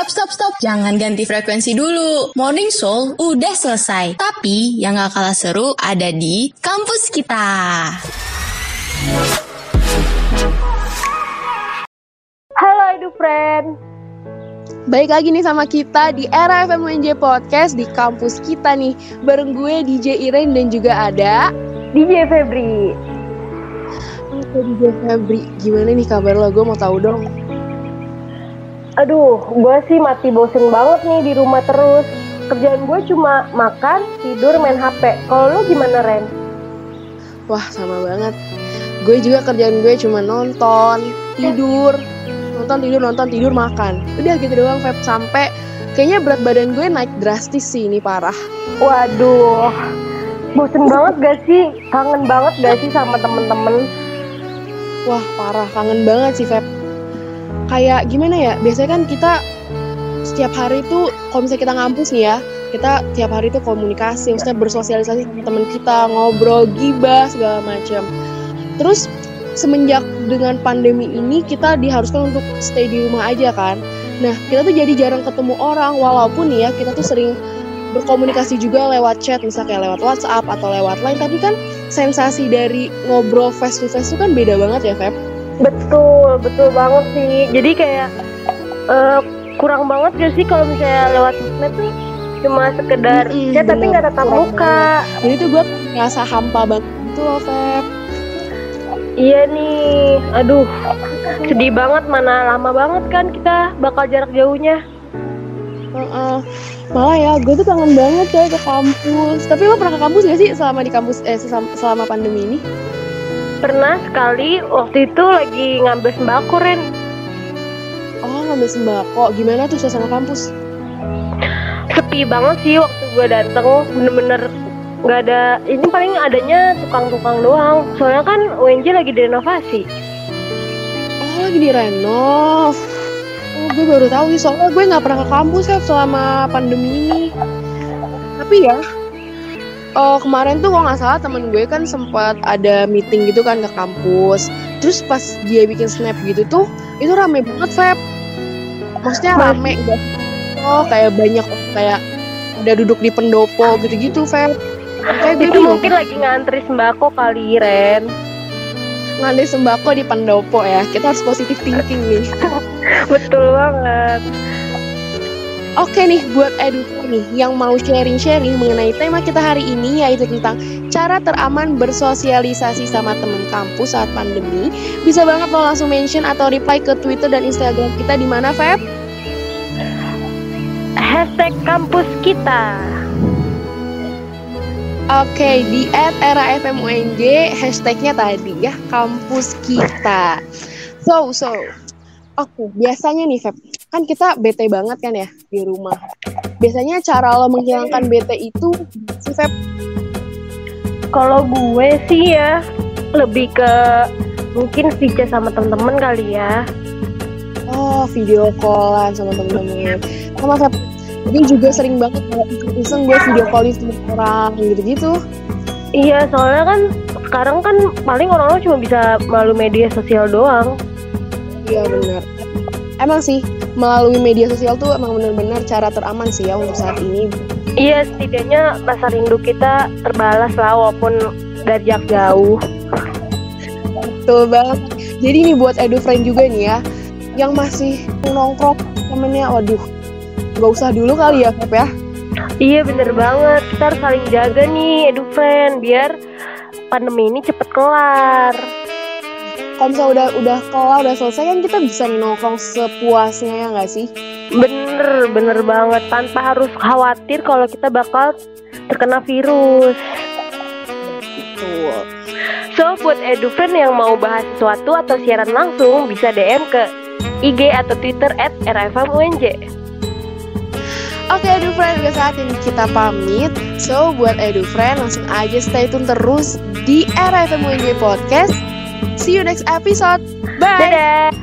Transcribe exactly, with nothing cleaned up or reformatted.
Stop, stop, stop. Jangan ganti frekuensi dulu. Morning Soul udah selesai. Tapi yang gak kalah seru ada di kampus kita. Halo EduFriend. Balik lagi nih sama kita di Era F M U N J Podcast di kampus kita nih. Bareng gue D J Iren dan juga ada D J Febri. Oke D J Febri, gimana nih kabar lo? Gue mau tahu dong. Aduh, gue sih mati bosen banget nih di rumah terus. Kerjaan gue cuma makan, tidur, main H P. Kalau lo gimana, Ren? Wah, sama banget. Gue juga kerjaan gue cuma nonton, tidur, nonton, tidur, nonton, tidur, makan. Udah gitu doang, Feb. Sampai kayaknya berat badan gue naik drastis sih, ini parah. Waduh, bosen banget gak sih? Kangen banget gak sih sama temen-temen? Wah, parah. Kangen banget sih, Feb. Kayak gimana ya, biasanya kan kita setiap hari tuh kalau misalnya kita ngampus nih ya, kita tiap hari tuh komunikasi, maksudnya bersosialisasi sama teman kita, ngobrol, gibah, segala macam. Terus semenjak dengan pandemi ini kita diharuskan untuk stay di rumah aja kan. Nah, kita tuh jadi jarang ketemu orang, walaupun nih ya kita tuh sering berkomunikasi juga lewat chat, misalnya kayak lewat WhatsApp atau lewat Line, tapi kan sensasi dari ngobrol face to face tuh kan beda banget ya, Feb. Betul, betul banget sih. Jadi kayak uh, kurang banget gak sih kalau misalnya lewat sosmed tuh cuma sekedar mm-hmm, chat bener, tapi gak tatap muka. Jadi tuh gue ngerasa hampa banget gitu loh, Feb. Iya nih, aduh sedih banget, mana lama banget kan kita bakal jarak jauhnya. Uh-uh. Malah ya, gue tuh kangen banget ya ke kampus. Tapi lo pernah ke kampus gak sih selama di kampus eh selama pandemi ini? Pernah sekali, waktu itu lagi ngambil sembako, Ren. Oh, ngambil sembako. Gimana tuh suasana kampus? Sepi banget sih waktu gue dateng, bener-bener gak ada. Ini paling adanya tukang-tukang doang. Soalnya kan U N J lagi direnovasi. Oh, lagi direnov. Oh, gue baru tahu sih, soalnya gue gak pernah ke kampus ya selama pandemi ini. Tapi ya, Oh, kemarin tuh kalau nggak salah temen gue kan sempat ada meeting gitu kan ke kampus. Terus pas dia bikin snap gitu tuh, itu rame banget, Feb. Maksudnya rame gak? Oh, kayak banyak, kayak udah duduk di pendopo gitu-gitu, Feb. Kayak itu mungkin lagi ngantri sembako kali, Ren. Ngantri sembako di pendopo ya. Kita harus positive thinking nih. Betul banget. Oke nih, buat EduFriend nih yang mau sharing-sharing mengenai tema kita hari ini, yaitu tentang cara teraman bersosialisasi sama teman kampus saat pandemi, bisa banget lo langsung mention atau reply ke Twitter dan Instagram kita di mana, Feb? Hashtag kampus kita. Oke, di at era F M U N J, hashtagnya tadi ya, kampus kita. So, so, oke, biasanya nih, Feb, kan kita bete banget kan ya di rumah. Biasanya cara lo menghilangkan bete itu sih, Feb? Kalau gue sih ya lebih ke mungkin video sama temen-temen kali ya. Oh, video callan sama temen-temen. Sama, Feb, gue juga sering banget kalau iseng gue video callin sama orang gitu-gitu. Iya, soalnya kan sekarang kan paling orang-orang cuma bisa melalui media sosial doang. Iya, benar. Emang sih, melalui media sosial tuh emang benar-benar cara teraman sih ya untuk saat ini. Iya, setidaknya rasa rindu kita terbalas lah walaupun dari jarak jauh. Betul banget. Jadi nih buat EduFriend juga nih ya, yang masih nongkrong temennya, waduh, gak usah dulu kali ya, Feb ya. Iya, bener banget. Kita harus saling jaga nih EduFriend biar pandemi ini cepet kelar. Kalau misalnya udah udah kelar, udah selesai kan kita bisa nih nongkrong sepuasnya ya nggak sih? Bener, bener banget. Tanpa harus khawatir kalau kita bakal terkena virus. Betul. So, buat EduFriend yang mau bahas sesuatu atau siaran langsung, bisa D M ke I G atau Twitter at era F M U N J. Oke EduFriend, udah saatnya kita pamit. So, buat EduFriend langsung aja stay tune terus di Era F M U N J Podcast. See you next episode. Bye. Dadah.